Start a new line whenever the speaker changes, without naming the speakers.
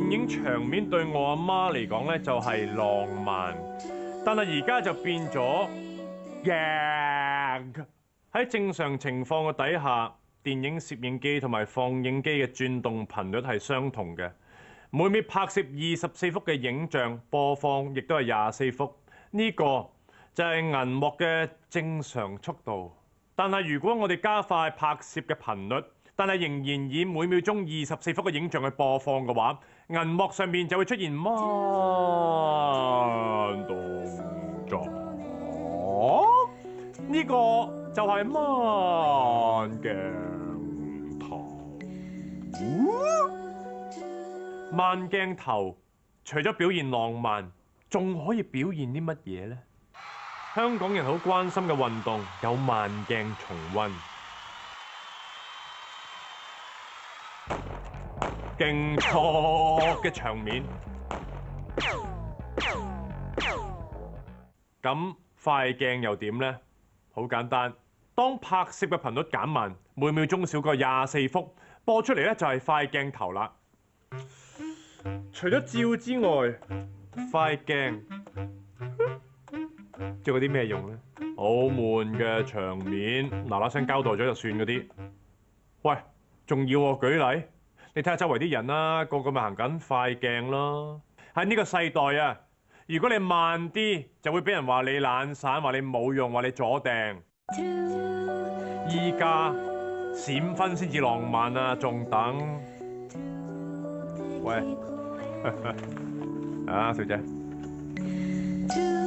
電影場面對我阿媽嚟講咧就係浪漫，但係而家就變咗驚。喺正常情況嘅底下，電影攝影機同埋放映機嘅轉動頻率係相同嘅，每秒拍攝24幅嘅影像，播放亦都係24幅。呢個就係銀幕嘅正常速度。但係如果我哋加快拍攝嘅頻率，但係仍然以每秒鐘24幅嘅影像去播放嘅話，銀幕上面就會出現慢動作。呢個就係慢鏡頭。慢鏡頭除咗表現浪漫，仲可以表現啲乜嘢呢？香港人好關心嘅運動有慢鏡重溫。勁挫嘅場面，咁快鏡又點呢？好簡單，當拍攝嘅頻率減慢，每秒鐘少過24幅，播出嚟咧就係快鏡頭啦。除咗照之外，快鏡仲有啲咩用呢？好悶嘅場面，嗱嗱聲交代咗就算嗰啲。喂，仲要我舉例？你睇下周圍啲人啦，個個咪行緊快鏡咯。喺呢個世代啊，如果你慢啲，就會俾人話你懶散，話你冇用，話你左掟。依家閃婚先至浪漫啊，仲等？喂，啊，小姐。